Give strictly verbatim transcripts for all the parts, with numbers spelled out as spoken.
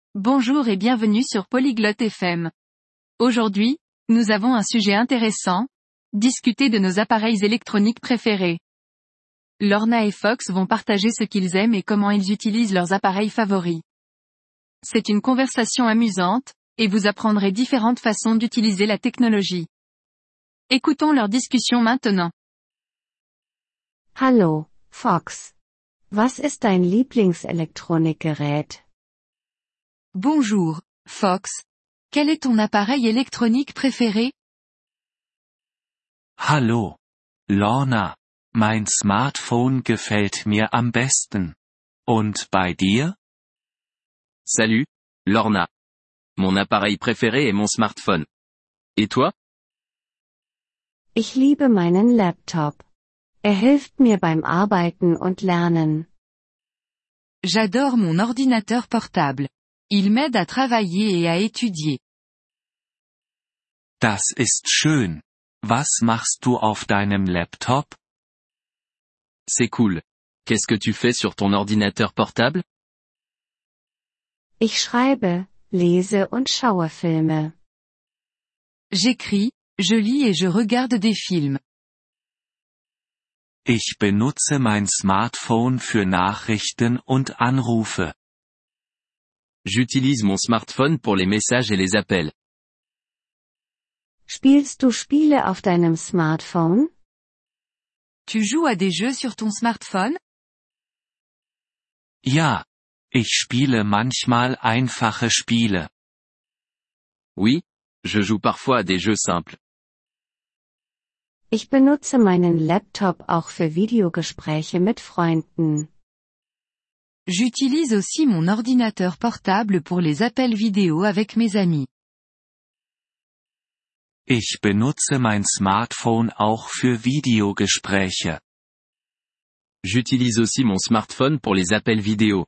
Bonjour et bienvenue sur Polyglotte F M. Aujourd'hui, nous avons un sujet intéressant, discuter de nos appareils électroniques préférés. Lorna et Fox vont partager ce qu'ils aiment et comment ils utilisent leurs appareils favoris. C'est une conversation amusante, et vous apprendrez différentes façons d'utiliser la technologie. Écoutons leur discussion maintenant. Hallo, Fox. Was ist dein Lieblingselektronikgerät? Bonjour, Fox. Quel est ton appareil électronique préféré? Hallo, Lorna. Mein Smartphone gefällt mir am besten. Und bei dir? Salut, Lorna. Mon appareil préféré est mon smartphone. Et toi? Ich liebe meinen Laptop. Er hilft mir beim Arbeiten und Lernen. J'adore mon ordinateur portable. Il m'aide à travailler et à étudier. Das ist schön. Was machst du auf deinem Laptop? C'est cool. Qu'est-ce que tu fais sur ton ordinateur portable? Ich schreibe, lese und schaue Filme. J'écris, je lis et je regarde des films. Ich benutze mein Smartphone für Nachrichten und Anrufe. J'utilise mon smartphone pour les messages et les appels. Spielst du Spiele auf deinem Smartphone? Tu joues à des jeux sur ton smartphone? Ja. Ich spiele manchmal einfache Spiele. Oui, je joue parfois à des jeux simples. Ich benutze meinen Laptop auch für Videogespräche mit Freunden. J'utilise aussi mon ordinateur portable pour les appels vidéo avec mes amis. Ich benutze mein Smartphone auch für Videogespräche. J'utilise aussi mon smartphone pour les appels vidéo.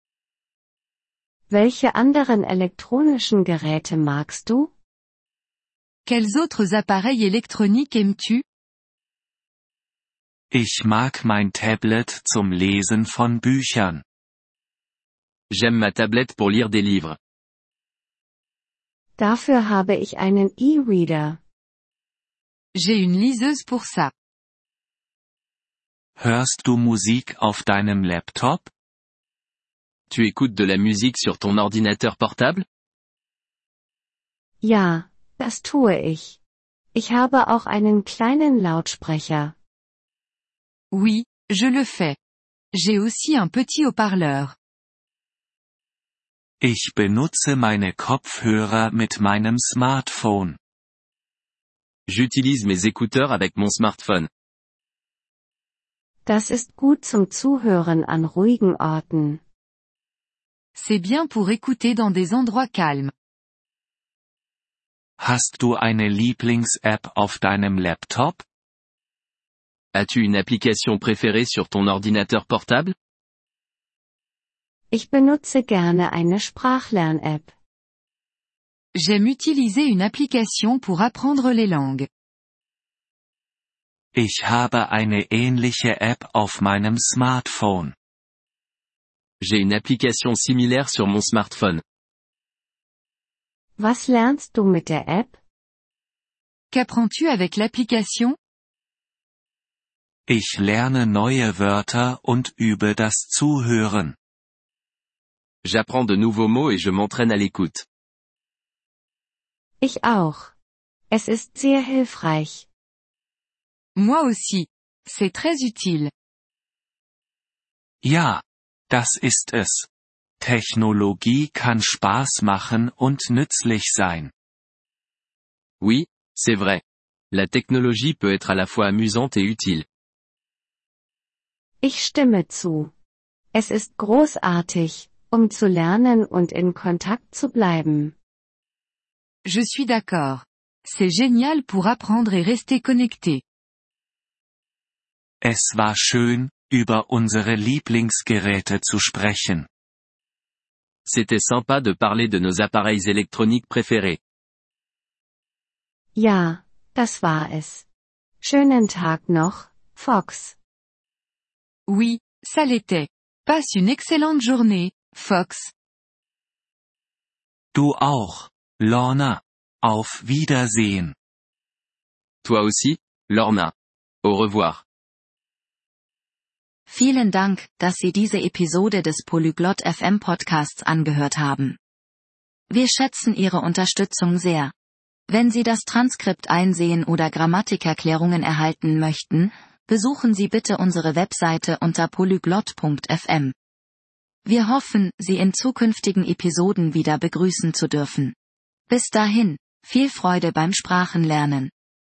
Welche anderen elektronischen Geräte magst du? Quels autres appareils électroniques aimes-tu? Ich mag mein Tablet zum Lesen von Büchern. J'aime ma tablette pour lire des livres. Dafür habe ich einen E-Reader. J'ai une liseuse pour ça. Hörst du Musik auf deinem Laptop? Tu écoutes de la musique sur ton ordinateur portable? Ja, das tue ich. Ich habe auch einen kleinen Lautsprecher. Oui, je le fais. J'ai aussi un petit haut-parleur. Ich benutze meine Kopfhörer mit meinem Smartphone. J'utilise mes écouteurs avec mon smartphone. Das ist gut zum Zuhören an ruhigen Orten. C'est bien pour écouter dans des endroits calmes. Hast du eine Lieblings-App auf deinem Laptop? As-tu une application préférée sur ton ordinateur portable? Ich benutze gerne eine Sprachlern-App. J'aime utiliser une application pour apprendre les langues. Ich habe eine ähnliche App auf meinem Smartphone. J'ai une application similaire sur mon smartphone. Was lernst du mit der App? Qu'apprends-tu avec l'application? Ich lerne neue Wörter und übe das Zuhören. J'apprends de nouveaux mots et je m'entraîne à l'écoute. Ich auch. Es ist sehr hilfreich. Moi aussi. C'est très utile. Ja, das ist es. Technologie kann Spaß machen und nützlich sein. Oui, c'est vrai. La technologie peut être à la fois amusante et utile. Ich stimme zu. Es ist großartig, um zu lernen und in Kontakt zu bleiben. Je suis d'accord. C'est génial pour apprendre et rester connecté. Es war schön, über unsere Lieblingsgeräte zu sprechen. C'était sympa de parler de nos appareils électroniques préférés. Ja, das war es. Schönen Tag noch, Fox. Oui, ça l'était. Passe une excellente journée, Fox. Du auch, Lorna. Auf Wiedersehen. Toi aussi, Lorna. Au revoir. Vielen Dank, dass Sie diese Episode des Polyglot F M Podcasts angehört haben. Wir schätzen Ihre Unterstützung sehr. Wenn Sie das Transkript einsehen oder Grammatikerklärungen erhalten möchten, besuchen Sie bitte unsere Webseite unter polyglot punkt f m. Wir hoffen, Sie in zukünftigen Episoden wieder begrüßen zu dürfen. Bis dahin, viel Freude beim Sprachenlernen.